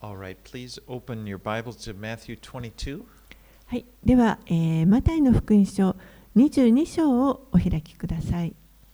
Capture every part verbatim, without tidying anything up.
All right, please open your Bibles to Matthew twenty-two. はい、では、えー、マタイの福音書にじゅうに章をお開きください。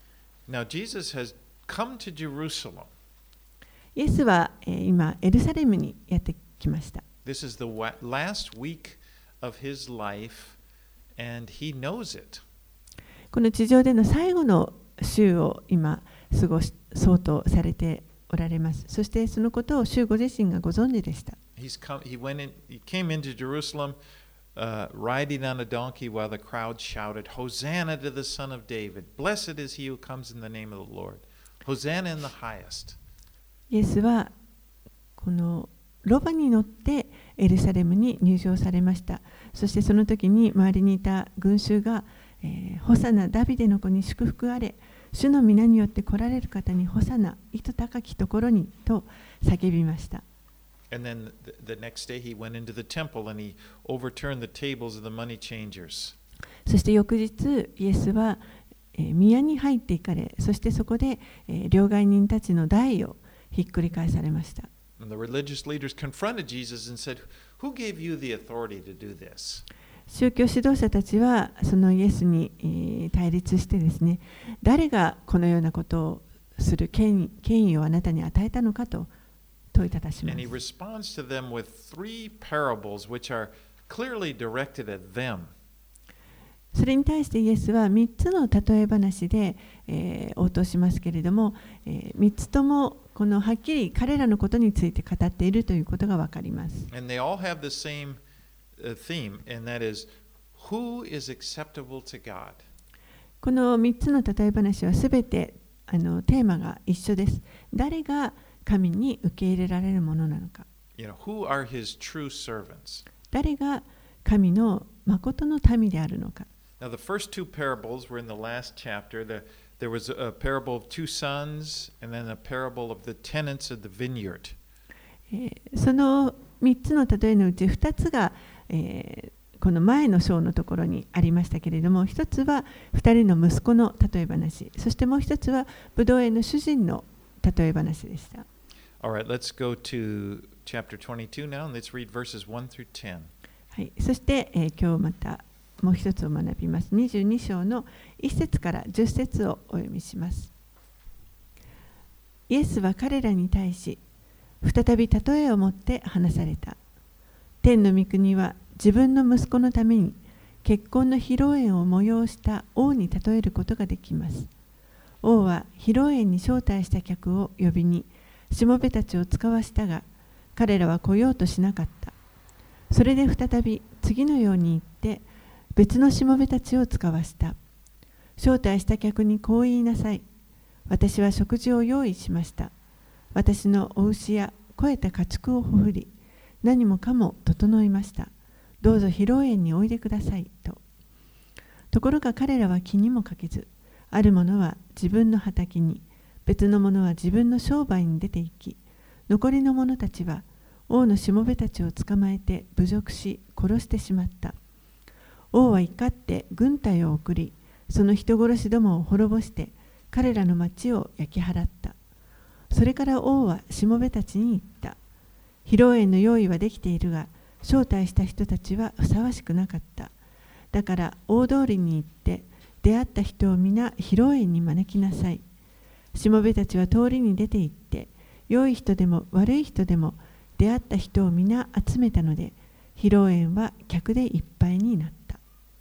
Now Jesus has come to Jerusalem. イエスは、えー、今エルサレムにやってきました。 This is the last week of his life, and he knows it. この地上での最後の週を今過ごそうとされておられます。そしてそのことを主ご自身がご存知でした。 He's come, he went in, he came into Jerusalem, uh, riding on a donkey while the crowd shouted, Hosanna to the Son of David. Blessed is he who comes in the name of the Lord. Hosanna in the highest. イエスはこのロバに乗ってエルサレムに入場されました。そしてその時に周りにいた群衆が、えー、ホサナダビデの子に祝福あれ。主の皆によって来られる方にホサナ、糸高きところにと叫びました。 And then the, the next day he went into the temple and he overturned the tables of the money changers. そして翌日、イエスは、えー、宮に入っていかれ、そしてそこで、えー、両替人たちの台をひっくり返されました。 And the religious leaders confronted Jesus and said, Who gave you the authority to do this? 宗教指導者たちはそのイエスに、えー、対立してですね、誰がこのようなことをする権威、権威をあなたに与えたのかと問いただします。 And he responds to them with three parables which are clearly directed at them. それに対してイエスはみっつの例え話で、えー、応答しますけれども、えー、みっつともこのはっきり彼らのことについて語っているということがわかります。 And they all have the same theme, and that is, who is acceptable to God? このみっつの例え話はすべてあのテーマが一緒です。誰が神に受け入れられるものなのか。 You know, who are his true servants? 誰が神の誠の民であるのか。 Now, the first two parables were in the last chapter. The, there was a parable of two sons, and then a parable of the tenants of the vineyard. そのみっつの例えのうちふたつが、えー、この前の章のところにありましたけれども、ひとつはふたりの息子の例え話、そしてもうひとつはブドウ園の主人の例え話でした。 All right, let's go to chapter twenty-two now, and let's read verses one through ten. はい、そして、えー、今日またもう一つを学びます。にじゅうに章のいち節からじゅっ節をお読みします。イエスは彼らに対し、再び例えを持って話された。天の御国は自分の息子のために結婚の披露宴を催した王に例えることができます。王は披露宴に招待した客を呼びに、しもべたちを使わしたが、彼らは来ようとしなかった。それで再び次のように言って、別のしもべたちを使わした。招待した客にこう言いなさい。私は食事を用意しました。私のお牛や肥えた家畜をほふり、何もかも整いました。どうぞ披露宴においでくださいと。ところが彼らは気にもかけず、ある者は自分の畑に、別の者は自分の商売に出て行き、残りの者たちは王のしもべたちを捕まえて侮辱し殺してしまった。王は怒って軍隊を送り、その人殺しどもを滅ぼして彼らの町を焼き払った。それから王はしもべたちに言った。披露宴の用意はできているが、招待した人たちはふさわしくなかった。だから大通りに行って、出会った人を皆披露宴に招きなさい。しもべたちは通りに出て行って、良い人でも悪い人でも出会った人を皆集めたので、披露宴は客でいっぱいになった。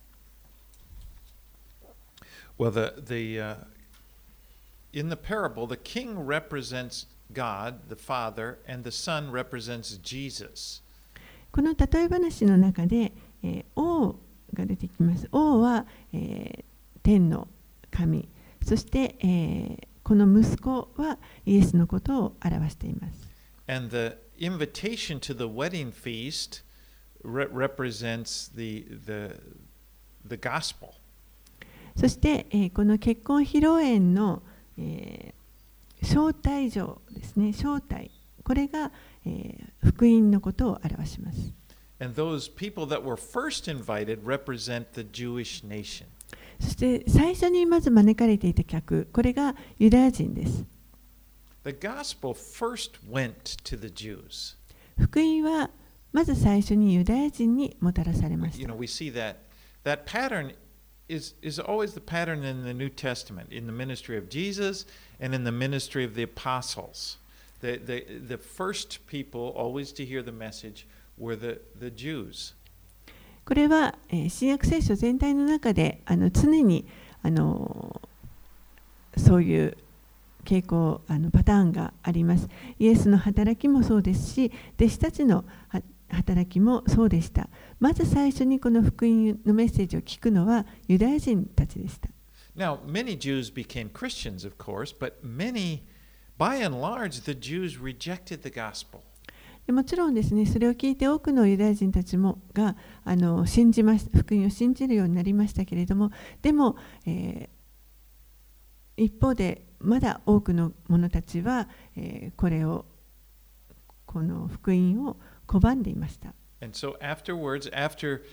Well, the, the, uh, in the parable, the king represents God, the Father, and the Son represents Jesus. この例え話の中で、えー、王が出てきます。王は、えー、天の神、そして、えー、この息子はイエスのことを表しています。 And the invitation to the wedding feast re- represents the, the, the gospel. そして、えー、この結婚披露宴の、えー、招待状ですね、招待、これが、えー、福音のことを表します。 And those people that were first invited represent the Jewish nation. そして最初にまず招かれていた客、これがユダヤ人です。 The gospel first went to the Jews. 福音はまず最初にユダヤ人にもたらされまし You た。 know, we see that that pattern is, is always the pattern in the New Testament, in the ministry of Jesus and in the ministry of the apostles. The, the, the first people always to hear the message were the, the Jews. これは、えー新約聖書全体の中であの常にあのそういう傾向あのパターンがあります。イエスの働きもそうですし、弟子たちのは働きもそうでした。まず最初にこの福音のメッセージを聞くのはユダヤ人たちでした。 Now, many Jews became Christians, of course, but many, by and large, the Jews rejected the gospel. でもちろんですね、それを聞いて多くのユダヤ人たちもがあの信じまし福音を信じるようになりましたけれども、でも、えー、一方でまだ多くの者たちは、えー、これをこの福音を拒んでいました。 And so afterwards, after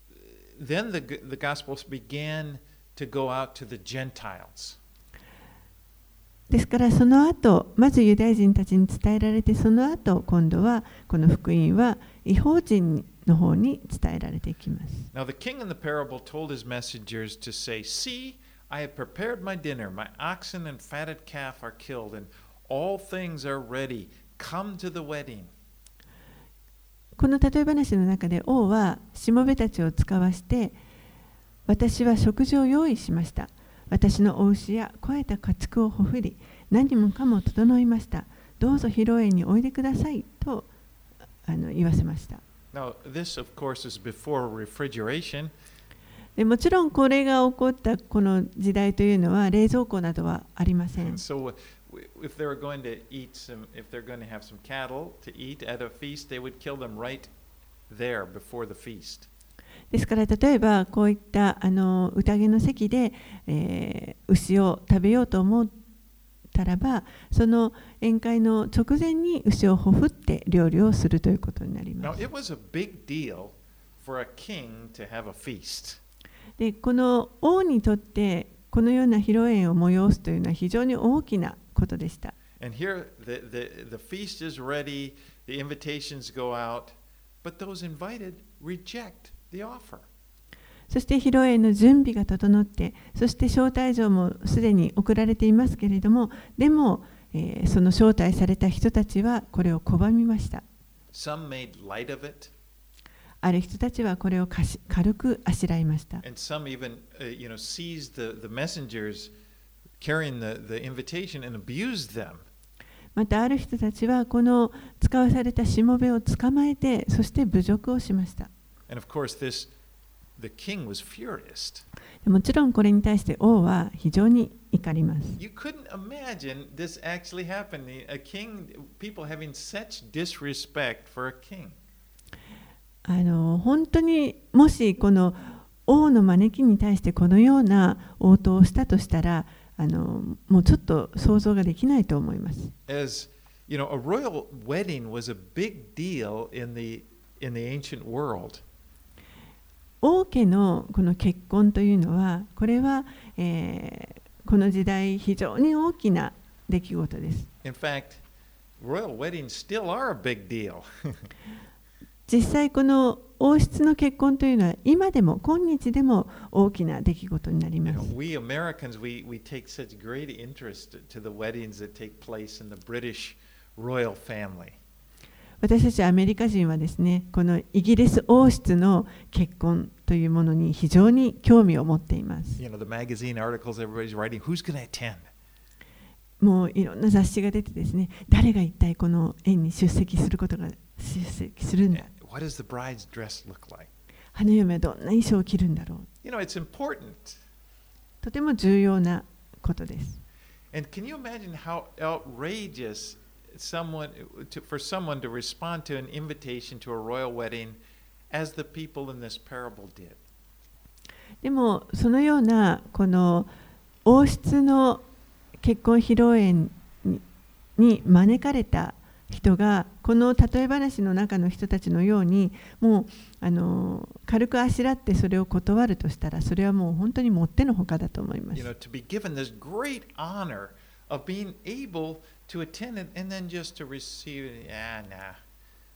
then the, the gospel began to go out to the Gentiles. ですからその後、まずユダヤ人たちに伝えられて、その後今度はこの福音は異邦人の方に伝えられていきます。 Now the king in the parable told his messengers to say, "See, I have prepared my dinner. My oxen and fatted calf are killed, and all things are ready. Come to the wedding." この例え話の中で王はしもべたちを使わして、私は食事を用意しました。私のお牛や肥えた家畜をほふり、何もかも整いました。どうぞ披露宴においでくださいとあの言わせました。 Now this, of course, is before refrigeration. でもちろんこれが起こったこの時代というのは冷蔵庫などはありません。 So if they were going to eat some, if they're going to have some cattle to eat at a feast, they would kill them right there before the feast. ですから例えばこういったあの宴の席で、えー、牛を食べようと思ったらば、その宴会の直前に牛をほふって料理をするということになりま Now す。 it was a big deal for a king to have a feast. でこの王にとってこのような披露宴を催すというのは非常に大きなことでした。 And here the, the, the feast is ready, the invitations go out, but those invited reject the offer. そして披露宴の準備が整って、そして招待状もすでに送られていますけれども、でも、えー、その招待された人たちはこれを拒みました。 Some made light of it. ある人たちはこれをかし軽くあしらいました。 And some even, uh, you know, seized the, the messengers carrying the, the invitation and abused them. またある人たちはこの使わされたしもべを捕まえて、そして侮辱をしました。 And of course, this the king was furious. もちろんこれに対して王は非常に怒ります。 You couldn't imagine this actually happening. A king, people having such disrespect for a king. あの本当にもしこの王の招きに対してこのような応答をしたとしたら、あのもうちょっと想像ができないと思います。 As you know, a royal wedding was a big deal in the in the ancient world. 王家のこの結婚というのは、これは、えー、この時代非常に大きな出来事です。 In fact, royal weddings still are a big deal. 実際この王室の結婚というのは今でも今日でも大きな出来事になり You ま know, す。 we Americans, we, we take such great interest to the weddings that take place in the British royal family. 私たちアメリカ人はですね、このイギリス王室の結婚というものに非常に興味を持っています。 You know, the magazine articles everybody's writing, who's going to attend? もういろんな雑誌が出てですね、誰が一体この宴に出席することが出席するんだ。 What does the bride's dress look like? 花嫁はどんな衣装を着るんだろう。 You know, it's important. とても重要なことです。 And can you imagine how outrageous someone to, for someone to respond to an invitation to a royal wedding as the people in this parable did? でもそのようなこの王室の結婚披露宴に、に招かれた人がこの例え話の中の人たちのようにもうあの軽くあしらってそれを断るとしたら、それはもう本当にもってのほかだと思います。 You know, to be given this great honor of being able to attend it and then just to receive it, yeah, nah,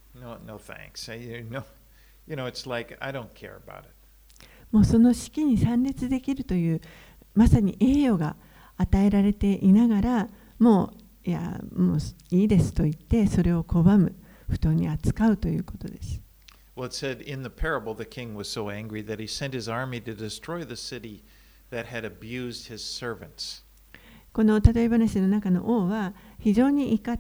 No, no thanks. I, you know, you know, it's like I don't care about it. もうその式に参列できるというまさに栄誉が与えられていながら、もういやもういいですと言ってそれを拒む、不当に扱うということです。 Well, it said in the parable, the king was so angry that he sent his army to destroy the city that had abused his servants. この例え話の中の王は非常に怒って、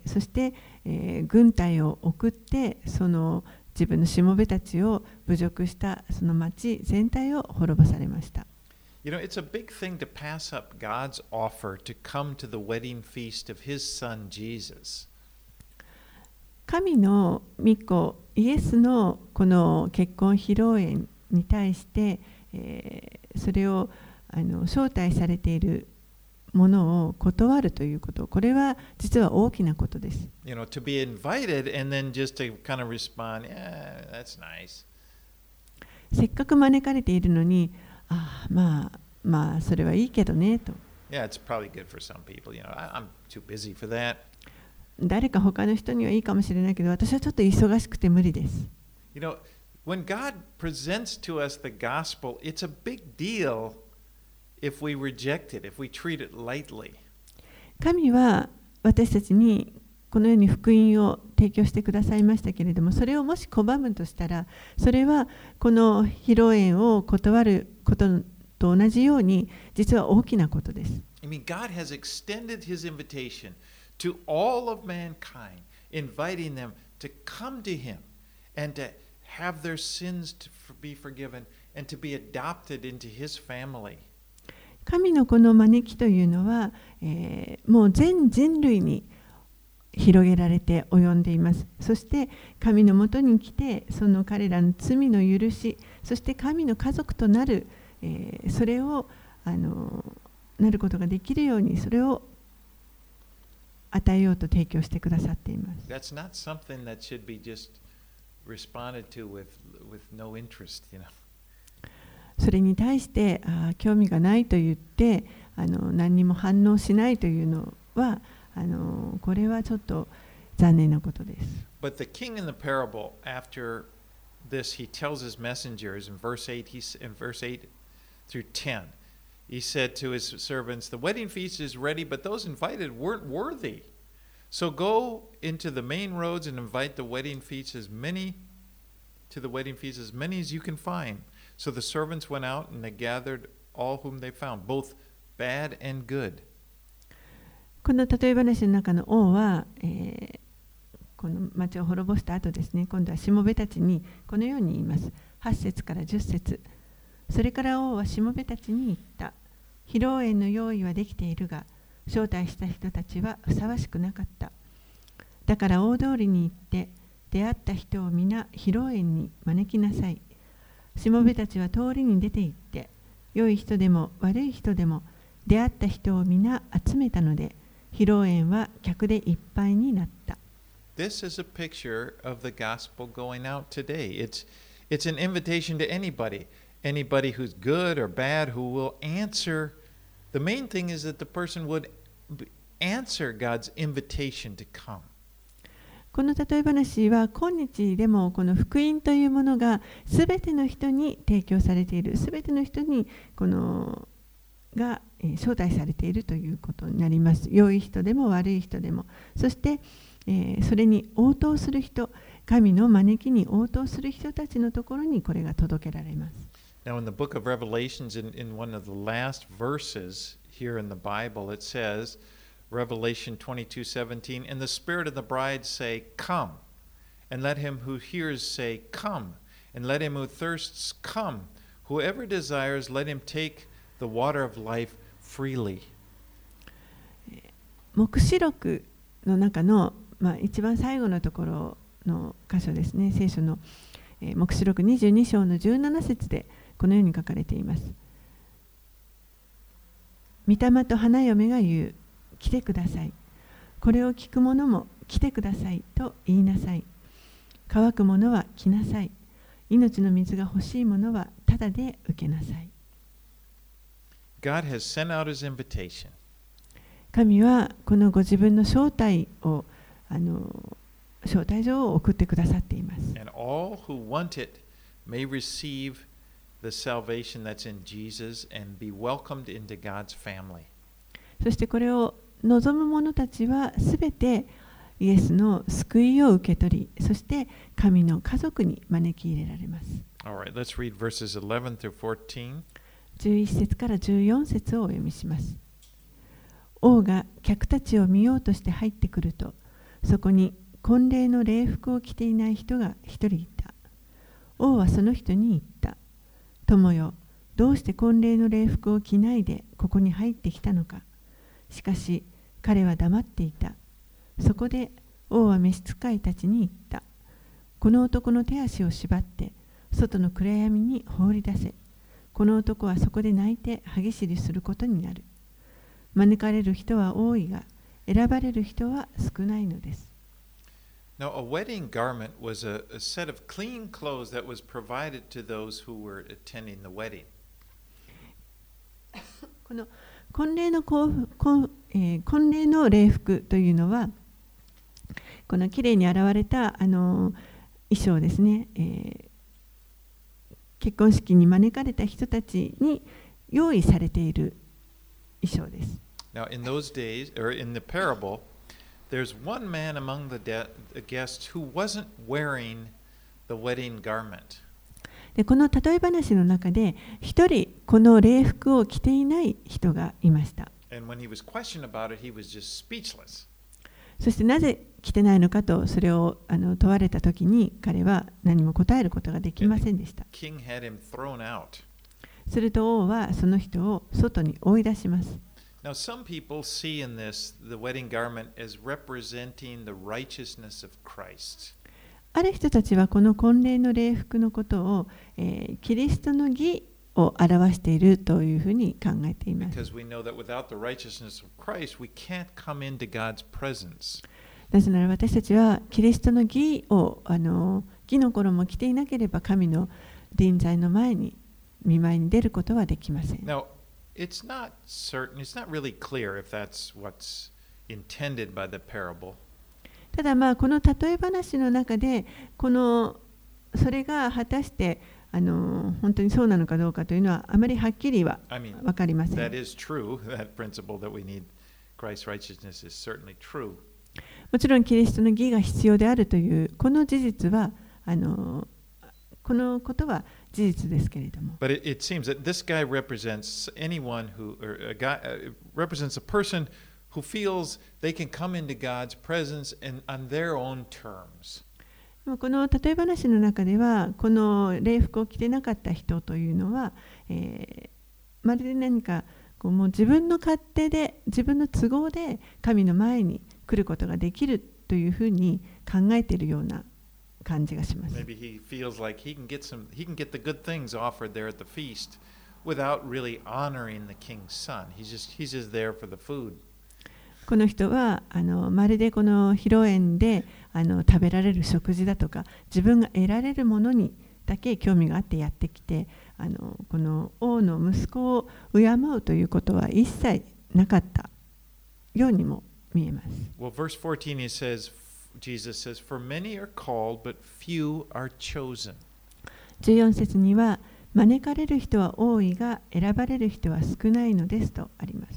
そして、えー、軍隊を送ってその自分のしもべたちを侮辱したその町全体を滅ぼされました。 You know, it's a big thing to pass up God's offer to come to the wedding feast of his son Jesus. 神の御子イエスのこの結婚披露宴に対して、えー、それをあの招待されているものを断るということ、これは実は大きなことです。 You know, to be invited and then just to kind of respond, yeah, that's nice. せっかく招かれているのに、ああ、まあまあそれはいいけどねと。 Yeah, it's probably good for some people. You know, I, I'm too busy for that. 誰か他の人にはいいかもしれないけど、私はちょっと忙しくて無理です。 You know, when God presents to us the gospel, it's a big deal if we reject it, if we treat it lightly. 神は私たちにこのように福音を提供してくださいましたけれども、それをもし拒むとしたら、それはこの披露宴を断ることと同じように、実は大きなことです。 I mean, God has extended his invitation to all of mankind, inviting them to come to him and to have their sins to be forgiven and to be adopted into his family. 神のこの招きというのは、えー、もう全人類に広げられて及んでいます。そして神のもとに来て、その彼らの罪の許し、そして神の家族となる、えー、それをあのなることができるように、それを与えようと提供してくださっています。 That's not something that should be just responded to with with no interest, you know. それに対してあ興味がないと言ってあの何にも反応しないというのはあのこれはちょっと残念なことです。 But the king in the parable, after this, he tells his messengers in verse eight, he's in verse eight through ten. He said to his servants, "The wedding feast is ready, but those invited weren't worthy. So go into the main roads and invite the wedding feast as many to the wedding feast as many as you can find." So the servants went out and they gathered all whom they found, both bad and good. この例え話の中の王は、えー、この町を滅ぼした後ですね、今度はしもべたちにこのように言います。はち節からじゅっ節。それから王はしもべたちに言った。披露宴の用意はできているが、招待した人たちはふさわしくなかった。だから大通りに行って、出会った人を皆披露宴に招きなさい。しもべたちは通りに出て行って、良い人でも悪い人でも出会った人を皆集めたので、披露宴は客でいっぱいになった。 This is a picture of the gospel going out today. It's, it's an invitation to anybody, anybody who's good or bad who will answer. The main thing is that the person would answer God's invitation to come. この例え話は今日でもこの福音というものがすべての人に提供されている、すべての人にこのが招待されているということになります。良い人でも悪い人でも、そして、えー、それに応答する人、神の招きに応答する人たちのところにこれが届けられます。 Now in the book of Revelations, in, in one of the last verses here in the Bible, it says, Revelation twenty-two seventeen, and the Spirit of the bride say, Come, and let him who hears say, Come, and let him who thirsts come. Whoever desires, let him take the water of life freely. 黙示録の中の、まあ、一番最後のところの箇所ですね、聖書の、えー、黙示録にじゅうに章のじゅうなな節でこのように書かれています。御霊と花嫁が言う。来てください。これを聞く者も来てくださいと言いなさい。乾く者は来なさい。命の水が欲しい者はただで受けなさい。 God has sent out his invitation. 神はこのご自分の招待をあの招待状を送ってくださっています。 And all who want it may receive the salvation that's in Jesus and be welcomed into God's family. そしてこれを望む者たちはすべてイエスの救いを受け取り、そして神の家族に招き入れられます。 All right, let's read verses eleven through fourteen. じゅういち節からじゅうよん節をお読みします。王が客たちを見ようとして入ってくると、そこに婚礼の礼服を着ていない人が一人いた。王はその人に言った。友よ、どうして婚礼の礼服を着ないでここに入ってきたのか。しかし彼は黙っていた。そこで王は召使いたちに言った。この男の手足を縛って外の暗闇に放り出せ。この男はそこで泣いて歯ぎしりすることになる。招かれる人は多いが、選ばれる人は少ないのです。 Now, a wedding garment was a, a set of clean clothes that was provided to those who were attending the wedding. この婚礼の婚、えー、婚礼の礼服というのは、このきれいに洗われたあの衣装ですね、えー、結婚式に招かれた人たちに用意されている衣装です。 Now, in those days, or in the parable, there's one man among the, de- the guests who wasn't wearing the wedding garment. でこの例え話の中で、一人この礼服を着ていない人がいました。 And when he was questioned about it, he was just speechless. そしてなぜ着てないのかとそれをあの問われたときに、彼は何も答えることができませんでした。 King had him thrown out. すると王はその人を外に追い出します。 Now, some people see in this the wedding garment as representing the righteousness of Christ. ある人たちはこの婚礼の礼服のことを、えー、キリストの義を表しているというふうに考えています。 Because we know that without the righteousness of Christ, we can't come into God's presence. なぜなら私たちはキリストの義をあの義の衣を着ていなければ神の臨在の前に御前に出ることはできません。 Now, it's not certain, it's not really clear if that's what's intended by the parable. ただまあこの例え話の中でこのそれが果たしてあの本当にそうなのかどうかというのはあまりはっきりは I mean, 分かりません。 that is true. That principle that we need Christ's righteousness is certainly true. もちろんキリストの義が必要であるというこの事実はあのこのことは事実ですけれども。 But it, it seems that this guy represents anyone who, or a guy, uh, represents a person who feels they can come into God's presence and on their own terms. この例え話の中ではこの礼服を着てなかった人というのは、えー、まるで何かこうもう自分の勝手で自分の都合で神の前に来ることができるというふうに考えているような感じがします。 Maybe he feels like he can get some, he can get the good things offered there at the feast without really honoring the king's son. He's just, he's just there for the food. この人はあのまるでこの披露宴であの食べられる食事だとか自分が得られるものにだけ興味があってやってきて、あのこの王の息子を敬うということは一切なかったようにも見えます。 Well, verse fourteen, he says, Jesus says, "For many are called, but few are chosen." じゅうよん節には招かれる人は多いが選ばれる人は少ないのですとあります。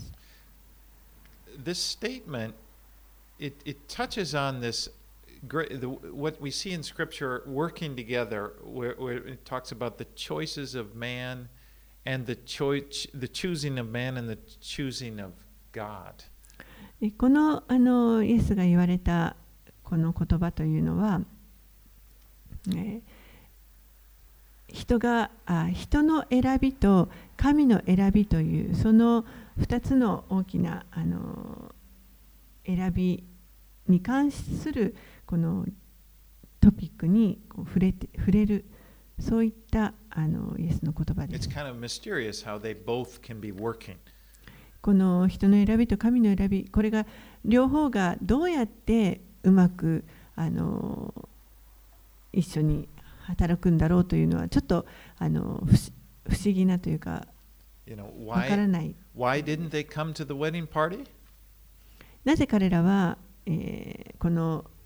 This statement, it, it touches on this, great, the, what we see in Scripture working together, where, where it talks about the choices of man and the, choice, the choosing of man and the choosing of God. この、あのイエスが言われたこの言葉というのは、えー、人があ人の選びと神の選びというそのふたつの大きなあの選びに関するこのトピックにこう触れて触れるそういったあのイエスの言葉です。 It's kind of mysterious how they both can be working. この人の選びと神の選び、これが両方がどうやってうまくあの一緒に働くんだろうというのはちょっとあの不思議なというか、 You know, わからない。 why, why didn't they come to the wedding party? なぜ彼らは、えー、この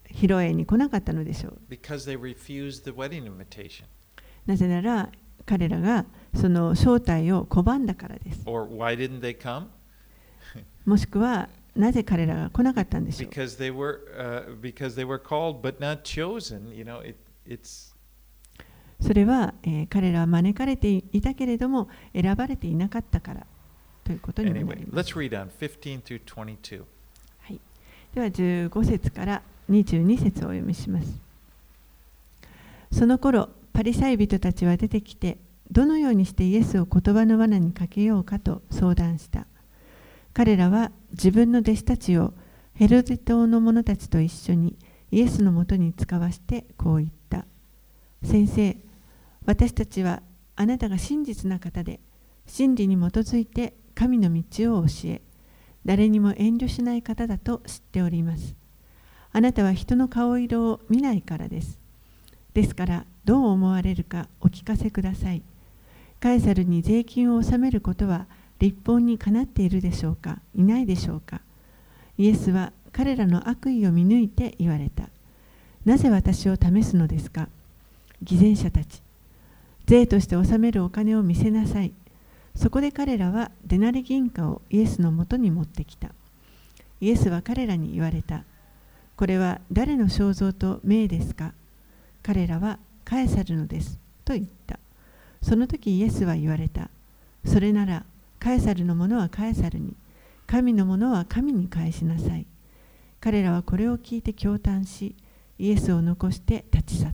披露宴に来なかったのでしょう。 Because they refused the wedding invitation. なぜなら彼らがその招待を拒んだからです。 Or why didn't they come? もしくはなぜ彼らが来なかったんでしょう。 Because they were, uh, because they were called but not chosen. You know, it, it's それは、えー、彼らは招かれていたけれども選ばれていなかったからということになります。 Anyway, let's read on fifteen through twenty-two. はい、ではじゅうご節からにじゅうに節をお読みします。その頃パリサイ人たちは出てきて、どのようにしてイエスを言葉の罠にかけようかと相談した。彼らは自分の弟子たちをヘロデ島の者たちと一緒にイエスのもとに使わしてこう言った。先生、私たちはあなたが真実な方で、真理に基づいて神の道を教え、誰にも遠慮しない方だと知っております。あなたは人の顔色を見ないからです。ですからどう思われるかお聞かせください。カエサルに税金を納めることは律法にかなっているでしょうか、いないでしょうか。イエスは彼らの悪意を見抜いて言われた。なぜ私を試すのですか。偽善者たち、税として納めるお金を見せなさい。そこで彼らはデナリ銀貨をイエスのもとに持ってきた。イエスは彼らに言われた。これは誰の肖像と名ですか。彼らはカエサルのですと言った。その時イエスは言われた。それならカエサルのものはカエサルに、神のものは神に返しなさい。彼らはこれを聞いて驚嘆し、イエスを残して立ち去った。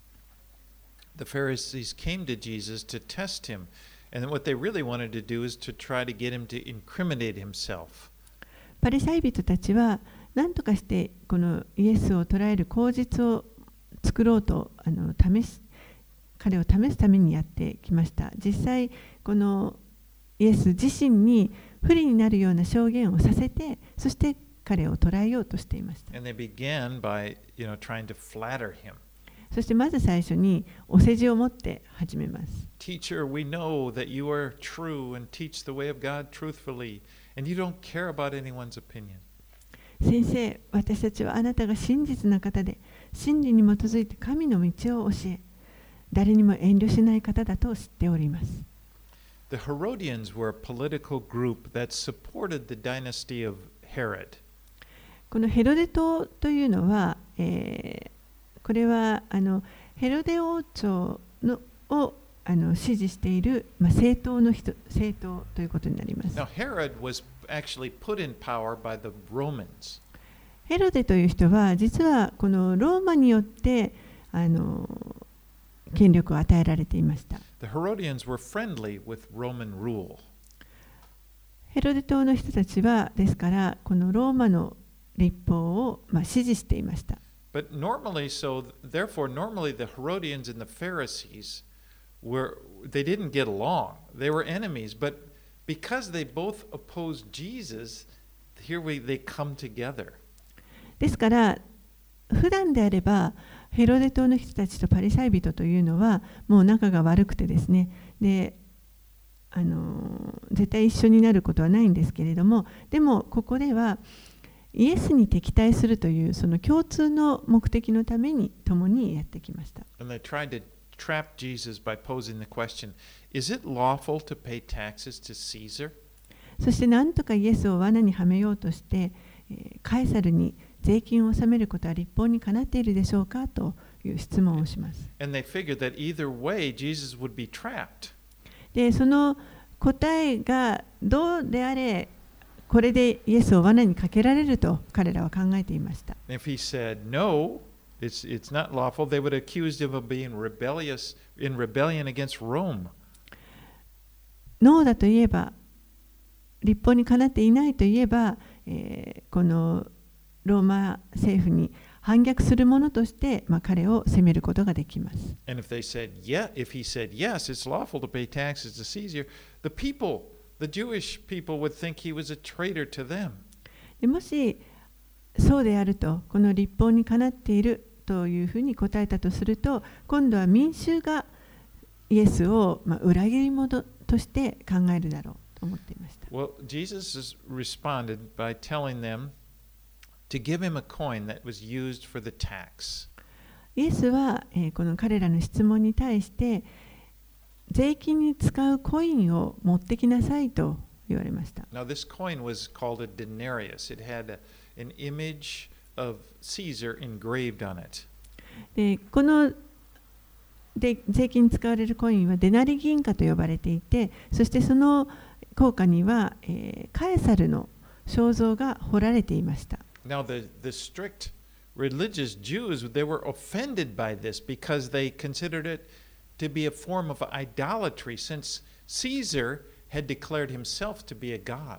The Pharisees came to Jesus to test him, and what they really wanted to do is to try to get him to incriminate himself. パリサイ人たちは何とかしてこのイエスを捕らえる口実を作ろうとあの試し彼を試すためにやってきました。実際このイエス自身に不利になるような証言をさせて、そして彼を捕らえようとしていました。 And they began by, you know, trying to flatter him. そしてまず最初にお世辞を持って始めます。 Teacher, we know that you are true and teach the way of God truthfully, and you don't care about anyone's opinion. 先生、私たちはあなたが真実な方で、真理に基づいて神の道を教え、誰にも遠慮しない方だと知っております。 The Herodians were a political group that supported the dynasty of Herod. このヘロデ島というのは、えー、これはあのヘロデ王朝のをあの支持している、まあ、政党の人政党ということになります。 Now, Herod was actually put in power by the Romans. ヘロデという人は実はこのローマによってあの権力を与えられていました。 The Herodians were friendly with Roman rule. ヘロデ島の人たちはですからこのローマの律法を、まあ、支持していました。 But normally, so therefore, normally the Herodians and the Pharisees were they didn't get along. They were enemies, but because they both opposed Jesus, here we they come together. ですから普段であればヘロデ島の人たちとパリサイ人というのはもう仲が悪くてですね、であの絶対一緒になることはないんですけれども、でもここではイエスに敵対するというその共通の目的のために共にやってきました。 And they tried to trap Jesus by posing the question, is it lawful to pay taxes to Caesar? そして何とかイエスを罠にはめようとして、カエサルに税金を納めることは律法にかなっているでしょうかという質問をします。 And they figured that either way Jesus would be trapped. で、その答えがどうであれ、これでイエスを罠にかけられると彼らは考えていました。 If he said no, it's, it's not lawful, they would accuse him of being rebellious in rebellion against Rome. ノーだと言えば、律法にかなっていないと言えば、えー、このローマ政府に反逆するものとして、まあ、彼を責めることができます。 And if they said, yeah, if he said yes, it's lawful to pay taxes to Caesar, the people, the Jewish people would think he was a traitor to them. でもしそうであると、この律法にかなっているというふうに答えたとすると、今度は民衆がイエスを、まあ、裏切り者として考えるだろうと思っていました。 Well, Jesus responded by telling them to give him a coin that was used for the tax. イエスは、えーこの彼らの質問に対して税金に使うコインを持ってきなさいと言われました。 Now, this coin was called a denarius. It had a, an image of Caesar engraved on it. でこので税金に使われるコインはデナリ銀貨と呼ばれていて、そしてその硬貨には、えーカエサルの肖像が彫られていました。 Now, the, the strict religious Jews, they were offended by this because they considered it to be a form of idolatry since Caesar had declared himself to be a god.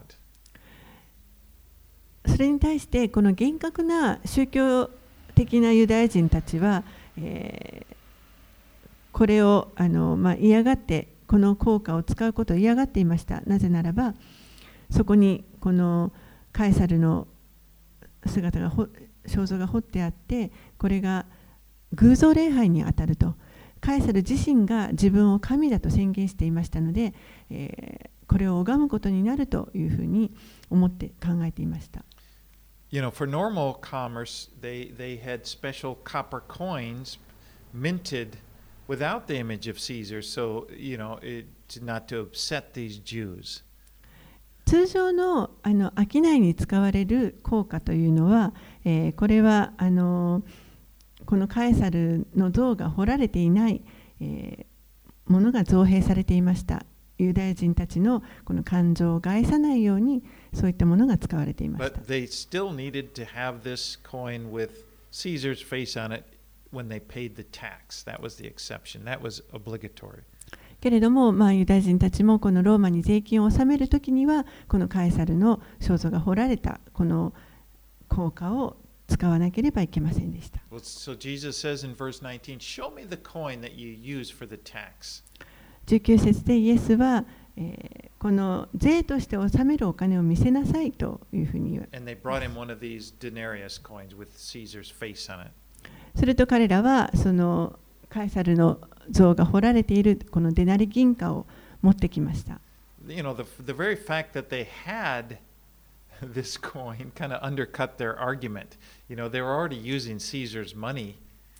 それに対してこの厳格な宗教的なユダヤ人たちは、えーこれをあの、まあ、嫌がってこの硬貨を使うことを嫌がっていました。なぜならばそこにこのカエサルの姿が肖像が彫ってあって、これが偶像礼拝にあたると。カエサル自身が自分を神だと宣言していましたので、えーこれを拝むことになるというふうに思って考えていました。 You know, for normal commerce, they, they had special copper coins minted without the image of Caesar, so, you know, it, not to upset these Jews. 通常のあの商いに使われる硬貨というのは、えーこれはあのこのカエサルの像が彫られていない、えーものが造幣されていました。ユダヤ人たちのこの感情を害さないようにそういったものが使われていました。 But they still needed to have this coin with Caesar's face on it when they paid the tax. That was the exception. That was obligatory. けれども、まあ、ユダヤ人たちもこのローマに税金を納めるときにはこのカエサルの肖像が彫られたこの硬貨を使わなければいけませんでした。 Well, so Jesus says in verse nineteen, "Show me the coin that you use for the tax." じゅうきゅう節でイエスは、えーこの税として納めるお金を見せなさいというふうに言われ And they brought him one of these denarius coins with Caesar's face on it. すると彼らはそのカエサルの像が彫られているこのデナリ銀貨を持ってきました。 You know, the, the very fact that they had this coin kind of undercut their argument. You know, they were already using Caesar's money.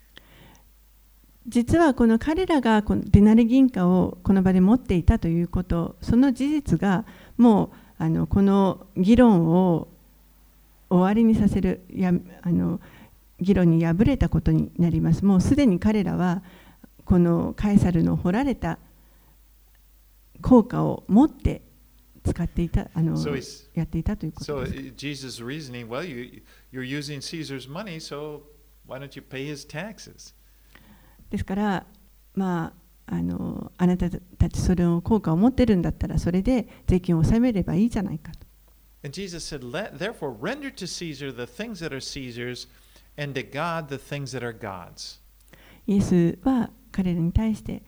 実はこの彼らがこのデナリ銀貨をこの場で持っていたということ、その事実がもうあのこの議論を終わりにさせるやあの議論に敗れたことになります。もうすでに彼らはこのカエサルの彫られた硬貨を持って使っていたあの So he's- やっていたということ So です。 uh, Jesus' reasoning, well, you, you're using Caesar's money, so why don't you pay his taxes? ですから、まあ、あのあなたたちそれを効果を持ってるんだったらそれで税金を納めればいいじゃないかと。 And Jesus said, Let, therefore, render to Caesar the things that are Caesar's, and to God the things that are God's. イエスは彼らに対して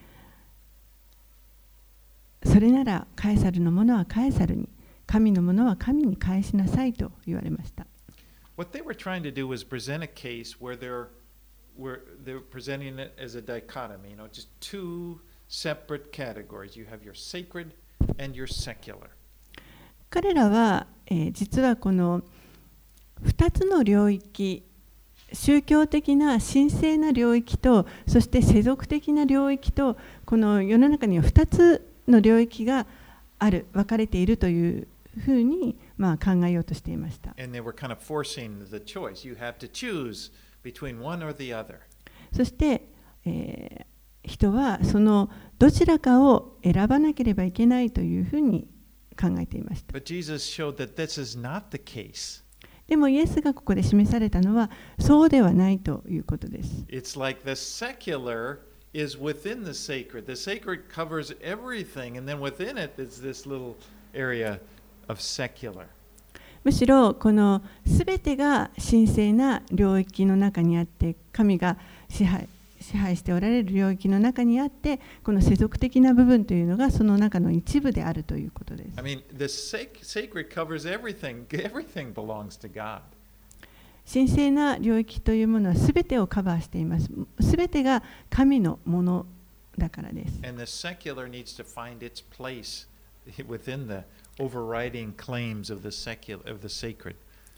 それならカエサルのものはカエサルに、神のものは神に返しなさいと言われました。 What they were trying to do was present a case where they're, where they're presenting it as a dichotomy, you know, just two separate categories. You have your sacred and your secular. 彼らは、えー実はこのふたつの領域、宗教的な神聖な領域とそして世俗的な領域と、この世の中にはふたつの領域がある、分かれているというふうに、まあ、考えようとしていました。 And they were kind of forcing the choice. You have to choose between one or the other. そして、えー人はそのどちらかを選ばなければいけないというふうに考えていました。 But Jesus showed that this is not the case. でもイエスがここで示されたのはそうではないということです。 It's like the secular is within the sacred. The sacred covers everything, and then within it is this little area of secular. むしろこのすべてが神聖な領域の中にあって、神が支配支配しておられる領域の中にあって、この世俗的な部分というのがその中の一部であるということです。 I mean, the sac- sacred covers everything. Everything belongs to God. 神聖な領域というものはすべてをカバーしています。すべてが神のものだからです。 And the secular needs to find its place within the overriding claims of the secular of the sacred.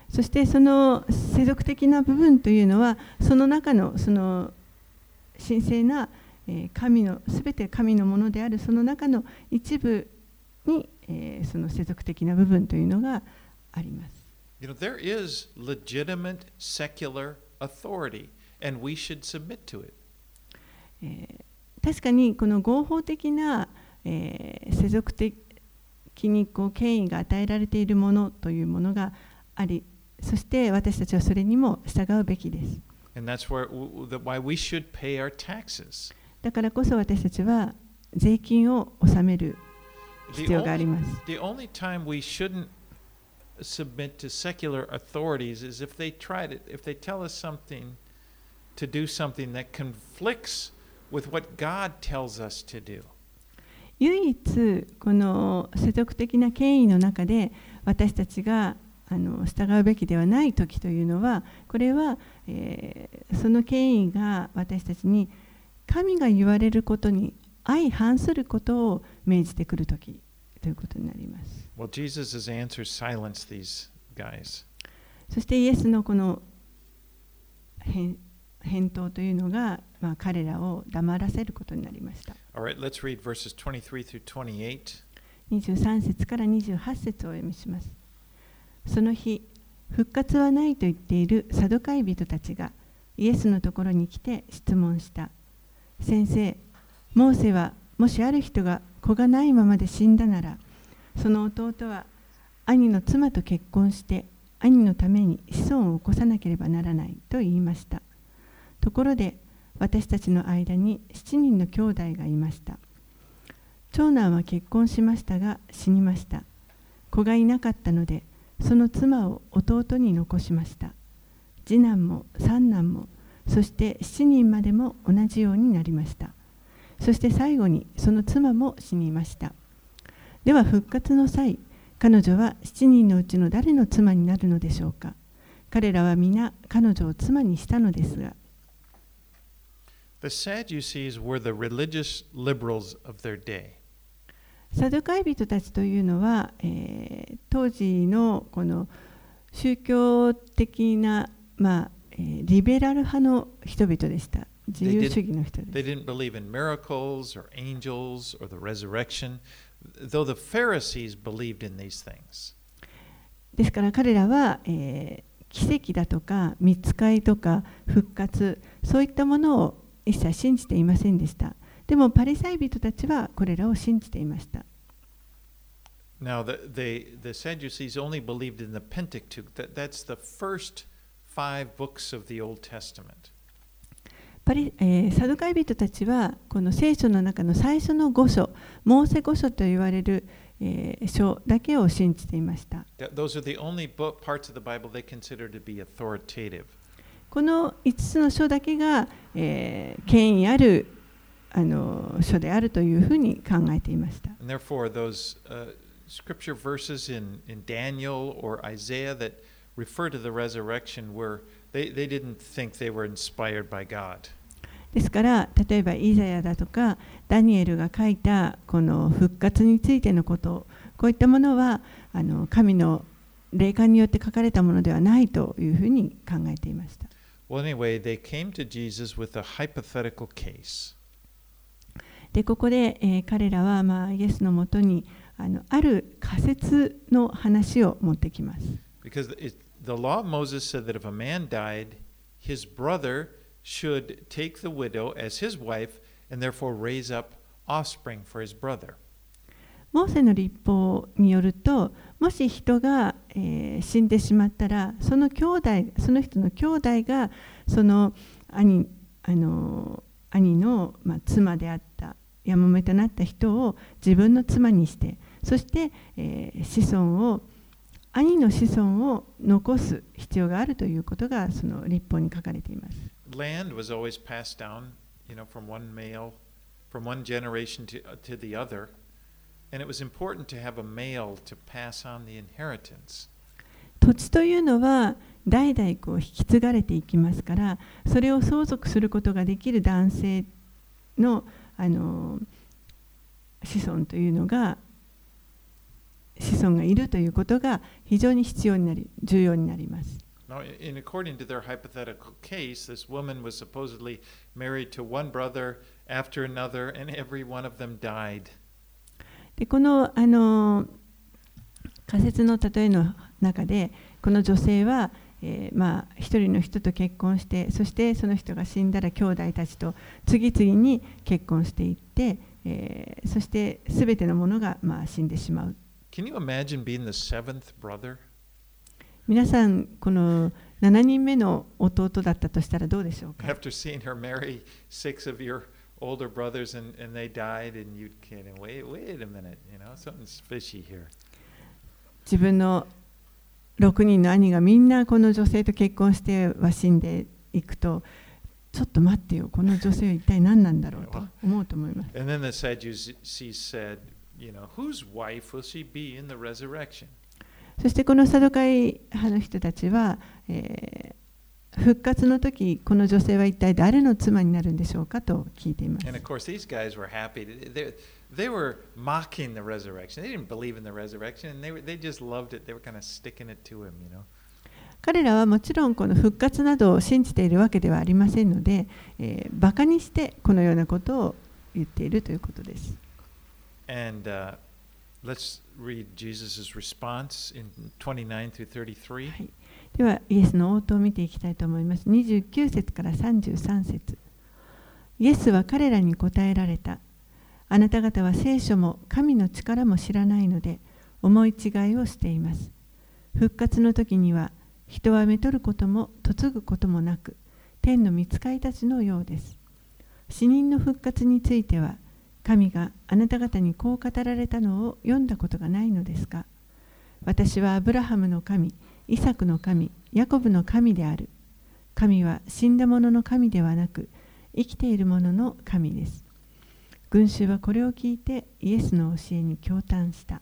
そしてその世俗的な部分というのは、その中のその神聖な神の、すべて神のものであるその中の一部に、えー、その世俗的な部分というのがあります。 You know, there is legitimate secular authority, and we should submit to it. えー、確かにこの合法的な、えー、世俗的にこう権威が与えられているものというものがあり、そして私たちはそれにも従うべきです。 And that's where, why we should pay our taxes. だからこそ私たちは税金を納める必要があります。 The only time we shouldn't submit to secular authorities is if they try to, if they tell us something to do something that conflicts with what God tells us to do. 唯一この世俗的な権威の中で私たちがあの従うべきではない時というのは、これは、えー、その権威が私たちに神が言われることに相反することを命じてくる時ということになります。 Well, Jesus' answer silenced these guys. そしてイエスのこの返返答というのが、まあ、彼らを黙らせることになりました。 All right, let's read verses twenty-three through twenty-eight. にじゅうさん節からにじゅうはち節をお読みします。その日、復活はないと言っているサドカイ人たちがイエスのところに来て質問した。先生、モーセはもしある人が子がないままで死んだなら、その弟は兄の妻と結婚して兄のために子孫を起こさなければならないと言いました。ところで私たちの間に七人の兄弟がいました。長男は結婚しましたが死にました。子がいなかったのでその妻を弟に残しました。次男も三男もそして七人までも同じようになりました。そして最後にその妻も死にました。では復活の際、彼女は七人のうちの誰の妻になるのでしょうか。彼らは皆彼女を妻にしたのですが。 The Sadducees were the religious liberals of their day. サドカイ人たちというのは、えー、当時のこの宗教的な、まあえー、リベラル派の人々でした。自由主義の人です。 They didn't believe in miracles or angels or the resurrection, though the Pharisees believed in these things. ですから彼らは、えー、奇跡だとか御使いとか復活、そういったものを一切信じていませんでした。でもパリサイ人たちはこれらを信じていました。 Now, the, the, the Sadducees only believed in the Pentateuch. That, that's the first five books of the Old Testament. パリえー、サドカイ人たちはこの聖書の中の最初のご書、モーセご書と言われる、えー、書だけを信じていました。 Those are the only book, parts of the Bible they consider to be authoritative. このいつつの書だけが、えー、権威あるあの書であるというふうに考えていました。 And therefore, those uh, scripture verses in, in Daniel or Isaiah that refer to the resurrection were they, they didn't think they were inspired by God. ですから例えばイザヤだとかダニエルが書いたこの復活についてのこと、こういったものはあの神の霊感によって書かれたものではないというふうに考えていました。 Well, anyway, they came to Jesus with a hypothetical case. でここで、えー、彼らは、まあ、イエスのもとにあのある仮説の話を持ってきます。 Because it, the law of Moses said that if a man died, his brother should take the widow as his wife and therefore raise up offspring for his brother. モーセの律法によると、もし人が、えー、死んでしまったら、その兄弟、その人の兄弟がその兄、あの兄の、まあ、妻であったやもめとなった人を自分の妻にして、そして、えー、子孫を兄の子孫を残す必要があるということがその律法に書かれています。 Land was always passed down, you know, from one male, from one generation to, to the other, and it was important to have a male to pass on the inheritance. 土地というのは代々こう引き継がれていきますから、それを相続することができる男性の、あの子孫というのが子孫がいるということが非常に必要になり、重要になります。 Now, in according to their hypothetical case, this woman was supposedly married to one brother after another, and every one of them died. でこのあの仮説の例えの中で、この女性は、えー、まあ一人の人と結婚して、そしてその人が死んだら兄弟たちと次々に結婚していって、えー、そしてすべてのものがまあ死んでしまう。 Can you imagine being the seventh brother? 皆さん、このしちにんめの弟だったとしたらどうでしょうか。 After seeing her marry six of your older brothers and, and they died, and you'd kind of wait, wait a minute, you know, something's fishy here. 自分のろくにんの兄がみんなこの女性と結婚しては死んでいくと、ちょっと待ってよ、この女性は一体何なんだろうと思うと思います。 And then the Sadducees said, you know, whose wife will she be in the resurrection? そしてこのサドカイ派の人たちは、えー、復活の時、この女性は一体誰の妻になるんでしょうかと聞いています。 And of course, these guys were happy. They, they were mocking the resurrection. They didn't believe in the resurrection, and they, were, they just loved it. They were kind of sticking it to him, you know. 彼らはもちろんこの復活などを信じているわけではありませんので、えー、バカにしてこのようなことを言っているということです。 And, uh, Let's read Jesus' response in twenty-nine through thirty-three. はい、では、イエスの応答を見ていきたいと思います。にじゅうきゅう節からさんじゅうさん節。イエスは彼らに答えられた。あなた方は聖書も神の力も知らないので、思い違いをしています。復活の時には、人はめとることも嫁ぐこともなく、天の御使いたちのようです。死人の復活については、神があなた方にこう語られたのを読んだことがないのですか。私はアブラハムの神、イサクの神、ヤコブの神である。神は死んだ者の神ではなく、生きている者の神です。群衆はこれを聞いてイエスの教えに驚嘆した。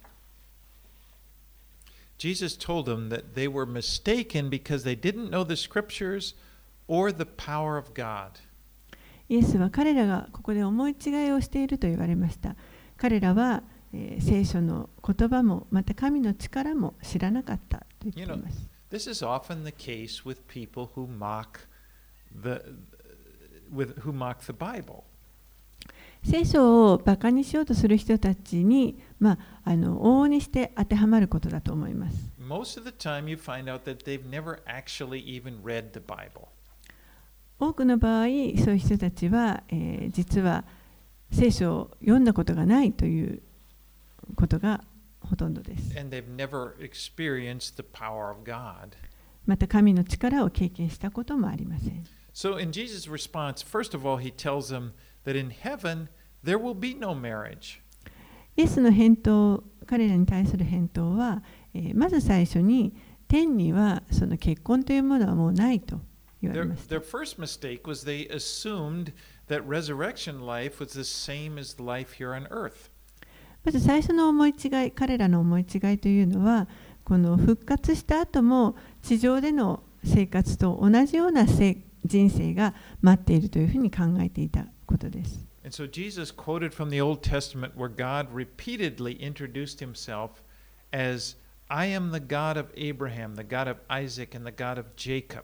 Jesus told them that they were mistaken because they didn't know the scriptures or the power of God. イエスは彼らがここで思い違いをしていると言われました。彼らは、えー、聖書の言葉もまた神の力も知らなかったと言っています。 You know, this is often the case with people who mock the, with, who mock the Bible. 聖書をバカにしようとする人たちに、まあ、あの往々にして当てはまることだと思います。 Most of the time you find out that they've never actually even read the Bible. 多くの場合、そういう人たちは、えー、実は聖書を読んだことがないということがほとんどです。 And they've never experienced the power of God. また神の力を経験したこともありません。 So in Jesus' response, first of all, he tells them that in heaven there will be no marriage. イエスの返答、彼らに対する返答は、えー、まず最初に天にはその結婚というものはもうないと。 Their, their first mistake was they assumed that resurrection life was the same as life here on earth. まず最初の思い違い、彼らの思い違いというのは、この復活した後も地上での生活と同じような人生が待っているというふうに考えていたことです。 And so Jesus quoted from the Old Testament where God repeatedly introduced himself as, I am the God of Abraham, the God of Isaac, and the God of Jacob.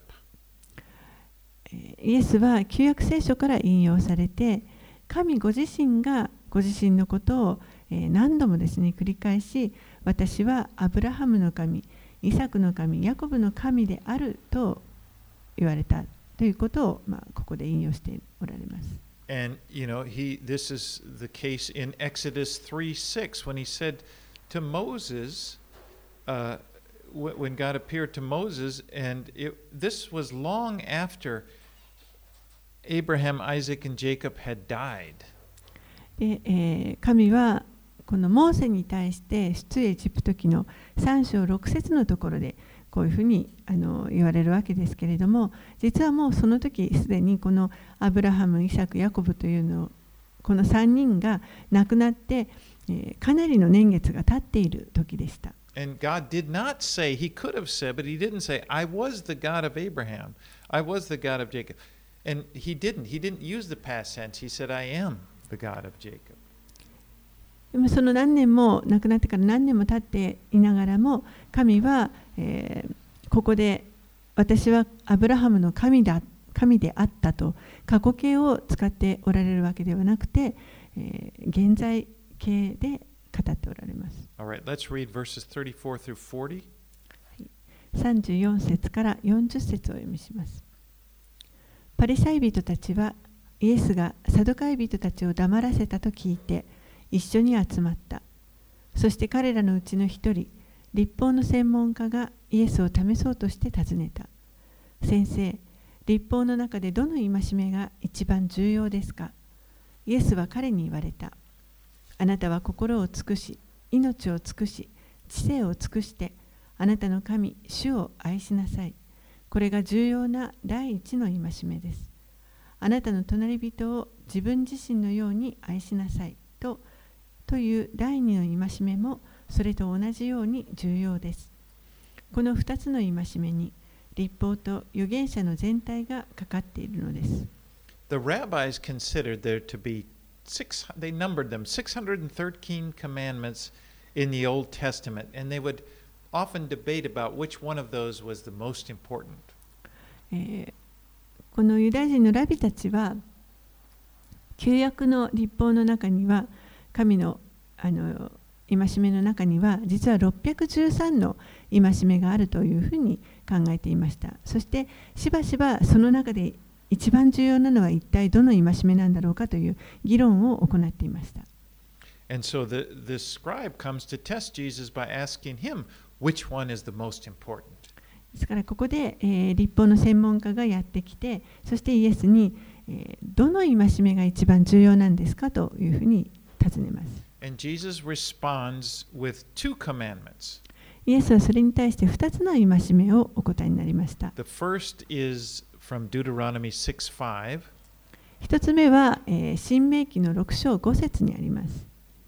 イエスは旧約聖書から引用されて、神ご自身がご自身のことを何度もですね繰り返し、私はアブラハムの神、イサクの神、ヤコブの神であると言われたということを、まあ、ここで引用しておられます。 And you know, he this is the case in Exodus three six when he said to Moses, uh, when God appeared to Moses, and it, this was long after Abraham, Isaac, and Jacob had died. で、えー、神はこのモーセに対して出エジプト記のさん章ろく節のところでこういうふうにあの言われるわけですけれども、実はもうその時すでにこのアブラハム、イサク、ヤコブというのこのさんにんが亡くなって、えー、かなりの年月が経っている時でした。 And God did not say, He could have said, but He didn't say, I was the God of Abraham, I was the God of Jacob. And He didn't. He didn't use the past tense. He said, I am the God of Jacob. でもその何年も亡くなってから何年も経っていながらも、神は、えー、ここで私はアブラハムの神だ、神であったと過去形を使っておられるわけではなくて、えー、現在形で語っておられます。 All right, let's read verses thirty-four through forty. さんじゅうよん節からよんじゅっ節をお読みします。パリサイ人たちはイエスがサドカイ人たちを黙らせたと聞いて一緒に集まった。そして彼らのうちの一人、律法の専門家がイエスを試そうとして尋ねた。先生、律法の中でどの戒めが一番重要ですか？イエスは彼に言われた。あなたは心を尽くし、命を尽くし、知性を尽くして、あなたの神、主を愛しなさい。これが重要な第一の戒めです。あなたの隣人を自分自身のように愛しなさいと、という第二の戒めもそれと同じように重要です。この二つの戒めに律法と預言者の全体がかかっているのです。 The rabbis considered there to be six, they numbered them six hundred thirteen commandments in the Old Testament, and they would often debate about which one of those was the most important. えー、このユダヤ人のラビたちは、旧約の律法の中には、神のあの戒めの中には、実はろっぴゃくじゅうさんの戒めがあるというふうに考えていました。そして、しばしばその中で一番重要なのは一体どの戒めなんだろうかという議論を行っていました。 And so the, the scribe comes to test Jesus by asking him, which one is the most important? ですからここで、えー、律法の専門家がやってきて、そしてイエスに、えー、どの戒めが一番重要なんですかというふうに尋ねます。 And Jesus responds with two commandments. イエスはそれに対してふたつの戒めをお答えになりました。 The first is from Deuteronomy six five. 一つ目は、えー、新明記のろく章ご節にあります。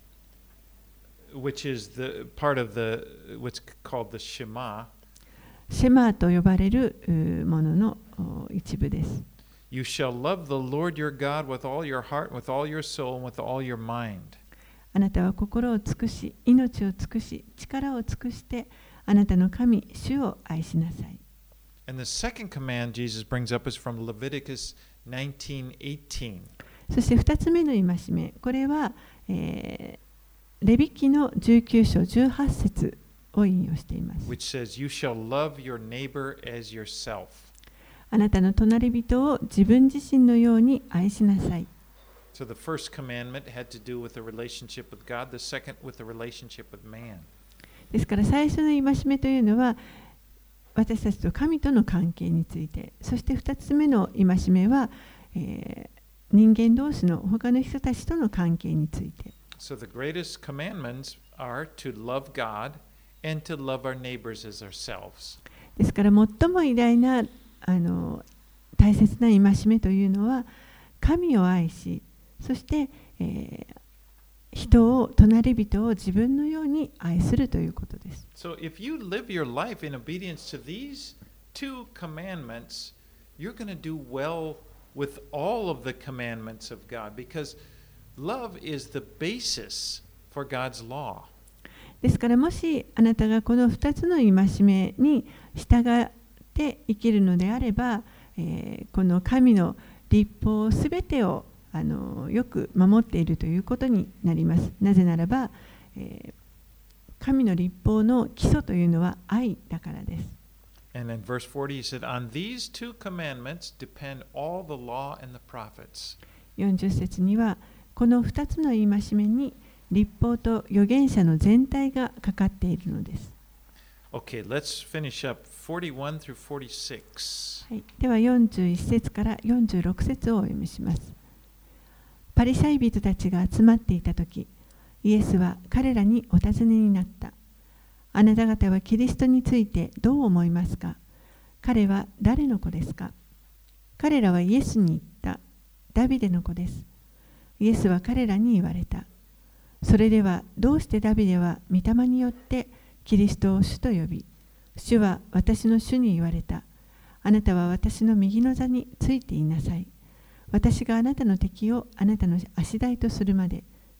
Which is the part of the what's called the Shema. シェマーと呼ばれるものの一部です。 You shall love the Lord your God with all your heart, with all your soul, and with all your mind. あなたは心を尽くし、命を尽くし、力を尽くして、あなたの神、主を愛しなさい。 And the second command Jesus brings up is from Leviticus nineteen eighteen. そして二つ目の戒め、これは、えー、レビ記のじゅうきゅう章じゅうはち節を引用しています。 Which says, You shall love your neighbor as yourself. あなたの隣人を自分自身のように愛しなさい。 So the first commandment had to do with the relationship with God, the second with the relationship with man. ですから最初の戒めというのは私たちと神との関係について、そして二つ目の戒めは、えー、人間同士の他の人たちとの関係について。 So the greatest commandments are to love God and to love our neighbors as ourselves. ですから最も偉大なあの大切な戒めというのは神を愛し、そして、えー、人を隣人を自分のように愛するということです。 So if you live your life in obedience to these two commandments, you're going to do well with all of the commandments of God because love is the basis for God's law. ですからもしあなたがこのふたつの戒めに従って生きるのであれば、えー、この神の律法すべてをあのよく守っているということになります。なぜならば、えー、神の律法の基礎というのは愛だからです。 And in verse forty, he said, On these two commandments depend all the law and the prophets. よんじゅう節には、このふたつの戒めに律法と預言者の全体がかかっているのです。 Okay, let's finish up forty-one through forty-six. はい、ではよんじゅういち節からよんじゅうろく節をお読みします。パリサイ人たちが集まっていたとき、イエスは彼らにお尋ねになった。あなた方はキリストについてどう思いますか？彼は誰の子ですか？彼らはイエスに言った。ダビデの子です。イエスは彼らに言われた。それではどうしてダビデは御霊によってキリストを主と呼び、主は私の主に言われた。あなたは私の右の座についていなさい。私があなたの敵をあなたの足台とするまで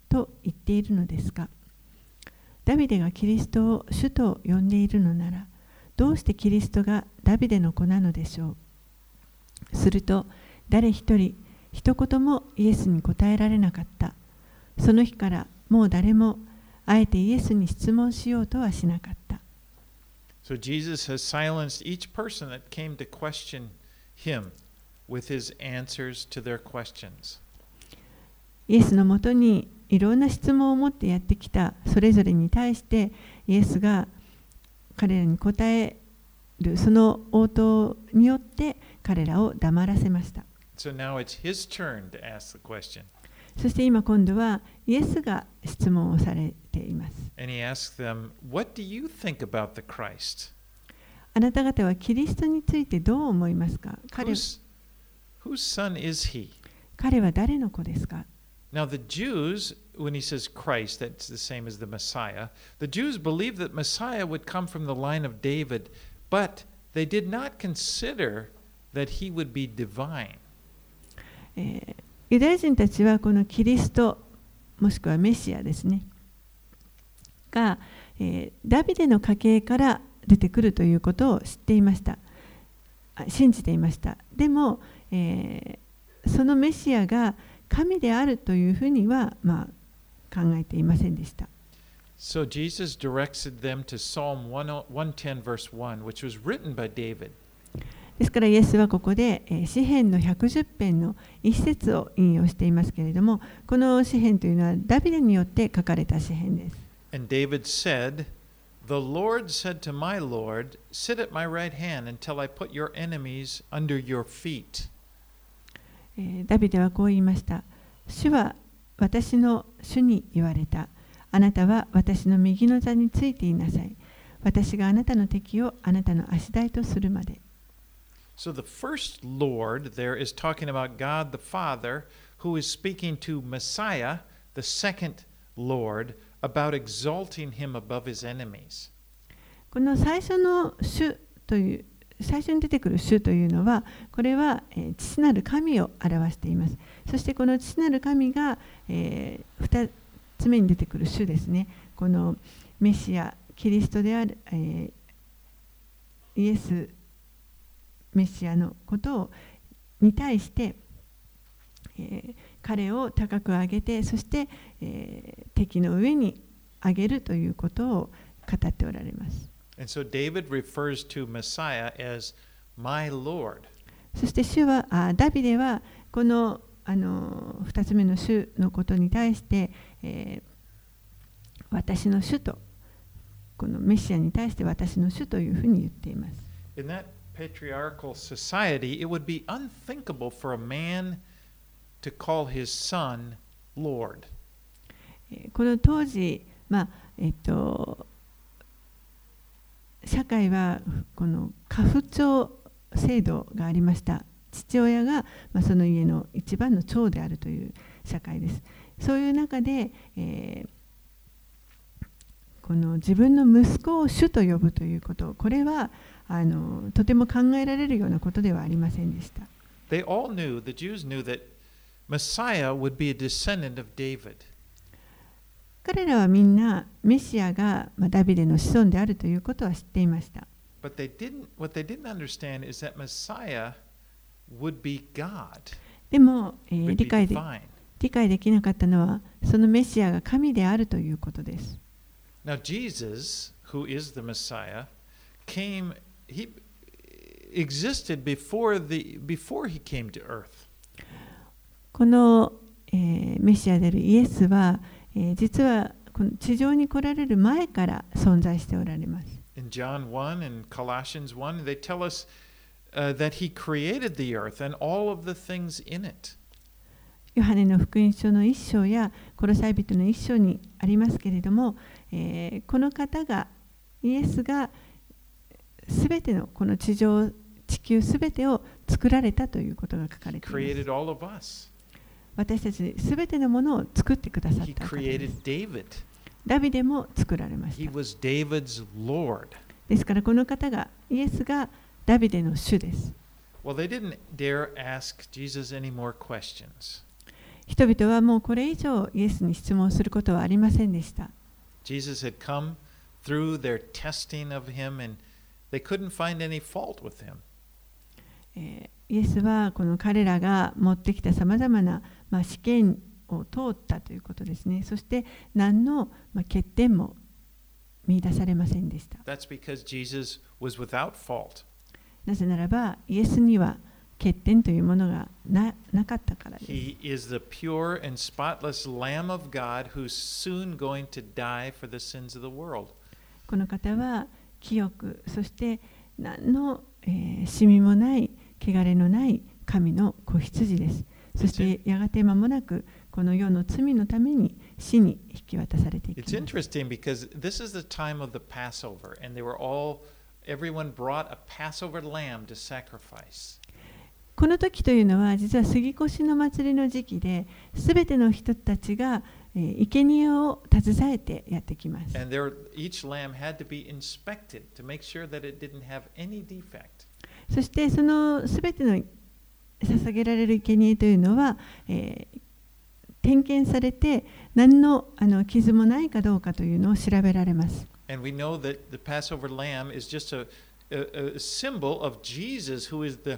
と言っているのですか。ダビデがキリストを主と呼んでいるのなら、どうしてキリストがダビデの子なのでしょう。すると、誰一人、一言もイエスに答えられなかった。その日からもう誰もあえてイエスに質問しようとはしなかった。 So Jesus has silenced each person that came to question him with his answers to their questions. イエスのもとにいろんな質問を持ってやってきたそれぞれに対してイエスが彼らに答えるその応答によって彼らを黙らせました。 So now it's his turn to ask the question. そして今今度はイエスが質問をされています。 And he asked them, What do you think about the Christ? あなた方はキリストについてどう思いますか。彼 Whose, whose son is he? 彼は誰の子ですか。 Now, the Jews, when he says Christ, that's the same as the Messiah. The Jews believed that Messiah would come from the line of David, but they did not consider that he would be divine. えーユダヤ人たちはこのキリストもしくはメシアですねが、えー、ダビデの家系から出てくるということを知っていました。信じていました。でも、えー、そのメシアが神であるというふうには、まあ、考えていませんでした。 So Jesus directed them to Psalm one ten verse one, which was written by David. ですからイエスはここで詩編のひゃくじゅう編の一節を引用していますけれども、この詩編というのはダビデによって書かれた詩編です。 And David said, The Lord said to my Lord, Sit at my right hand until I put your enemies under your feet. ダビデはこう言いました。主は私の主に言われた。あなたは私の右の座についていなさい。私があなたの敵をあなたの足台とするまで。 So the first Lord there is talking about God the Father, who is speaking to Messiah, the second Lord, about exalting him above his enemies. この最初の主という最初に出てくる主というのは、これは、えー、父なる神を表しています。そしてこの父なる神が、えー、ふたつめに出てくる主ですね。このメシア、キリストである、えー、イエスメシアのことをに対して、えー、彼を高く上げて、そして、えー、敵の上に上げるということを語っておられます。 And so David refers to Messiah as my Lord. そして主はあダビデはこのあのふたつめの主のことに対して、えー、私の主とこのメシアに対して私の主というふうに言っています。 In that patriarchal society, it would be unthinkable for a man to call his son Lord. この当時、まあえっと、社会はこの家父長制度がありました。父親が、まあ、その家の一番の長であるという社会です。そういう中で、えー、この自分の息子を主と呼ぶということ、これはあのとても考えられるようなことではありませんでした。 They all knew, the Jews knew that Messiah would be a descendant of David. 彼らはみんなメシアが、まあ、ダビデの子孫であるということは知っていました。 But they didn't, what they didn't understand is that Messiah would be God. でも、えー、 would 理 be 解で、 divine. 理解できなかったのはそのメシアが神であるということです。 Now Jesus, who is the Messiah, came, he existed before, the, before he came to earth. この、えー、メシアであるイエスは、えー、実はこの地上に来られる前から存在しておられます。 In John one and Colossians one, they tell us uh, that he created the earth and all of the things in it. ヨハネの福音書の一章やコロサイ人の一章にありますけれども、えー、この方がイエスがすべてのこの地上地球すべてを作られたということが書かれています。私たちすべてのものを作ってくださった方です。ダビデも作られました。ですからこの方がイエスがダビデの主です。 Well, they didn't dare ask Jesus any more questions. 人々はもうこれ以上イエスに質問することはありませんでした。 Jesus had come through their testing of him and they couldn't find any fault with him. えー、イエスはこの彼らが持ってきたさまざまな、まあ、試験を通ったということですね。そして何の、まあ、欠点も見出されませんでした。 That's because Jesus was without fault. なぜならばイエスには欠点というものが な, なかったからです。 He is the pure and spotless Lamb of God who's soon going to die for the sins of the world. この方は清く、そして何の、えー、シミもない汚れのない神の子羊です。そしてやがて間もなくこの世の罪のために死に引き渡されていきます。 It's interesting because this is the time of the Passover and they were all, everyone brought a Passover lamb to sacrifice. この時というのは実は杉越の祭りの時期で、すべての人たちが生贄を携えてやってきます。 And there, each lamb had to be inspected to make sure that it didn't have any defect. そしてそのすべての捧げられる生贄というのは、えー、点検されて何の、あの傷もないかどうかというのを調べられます。 And we know that the Passover lamb is just a, a, a symbol of Jesus who is the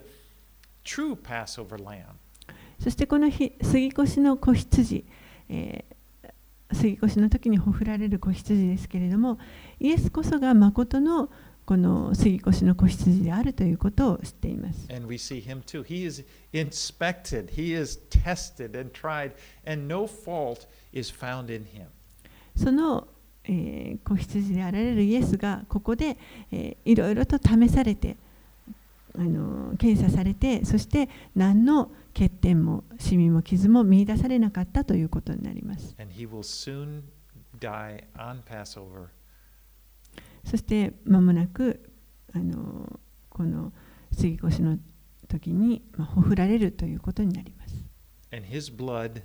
true Passover lamb. そしてこの日、杉越の子羊、えー、杉越の時にほふられる子羊ですけれども、イエスこそが誠のこの杉越の子羊であるということを知っています。 And we see him too. He is inspected, he is tested and tried, and no fault is found in him. その、えー、子羊であられるイエスがここで、えー、いろいろと試されて、あの検査されて、そして何の欠点もシミも傷も見出されなかったということになります。 And he will soon die on Passover. そして間もなくあのこの杉越の時に、まあ、ほふられるということになります。 And his blood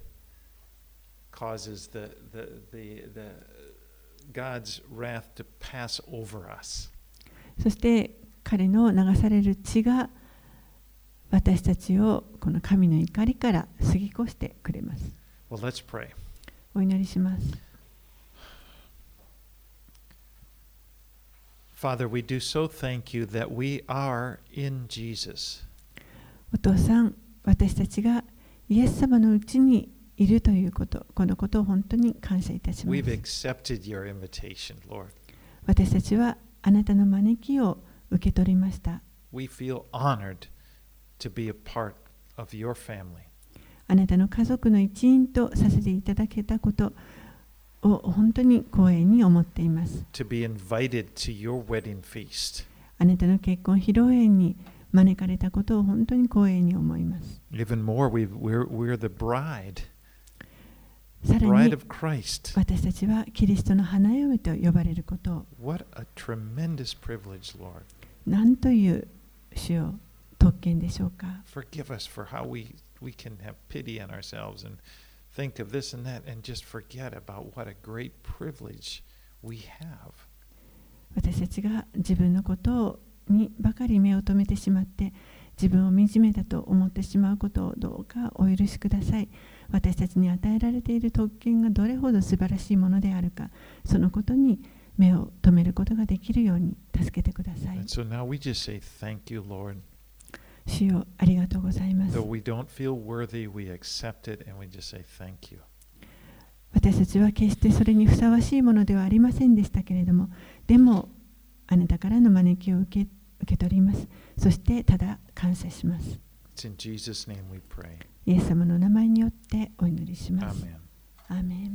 causes the, the, the, the God's wrath to pass over us. そして彼の流される血が私たちをこの神の怒りから過ぎ越してくれます。 Well, let's pray. お祈りします。 Father, we do so thank you that we are in Jesus. お父さん、私たちがイエス様のうちにいるということ、このことを本当に感謝いたします。 We've accepted your invitation, Lord. 私たちはあなたの招きを受け取りました。 We feel honored to be a part of your family. あなたの家族の一員とさせていただけたことを本当に光栄に思っています。 To be invited to your wedding feast. あなたの結婚披露宴に招かれたことを本当に光栄に思います。 Even more, we've, we're, we're the bride, さ the ら bride に of Christ. 私たちはキリストの花嫁と呼ばれることを、 What a tremendous privilege, Lord. 何という主よ特権でしょうか。 Forgive us for how we, we can have pity on ourselves and think of this and that and just forget about what a great privilege we have. 私たちが自分のことにばかり目を留めてしまって自分を惨めだと思ってしまうことをどうかお許しください。私たちに与えられている特権がどれほど素晴らしいものであるか、そのことに目を留めることができるように助けてください。 And so now we just say thank you, Lord. 主よありがとうございます。 Though we don't feel worthy, we accept it and we just say thank you. 私たちは決してそれにふさわしいものではありませんでしたけれども、でもあなたからの招きを受け、受け取ります。そしてただ感謝します。 It's in Jesus' name we pray. イエス様の名前によってお祈りします。 Amen. アーメン。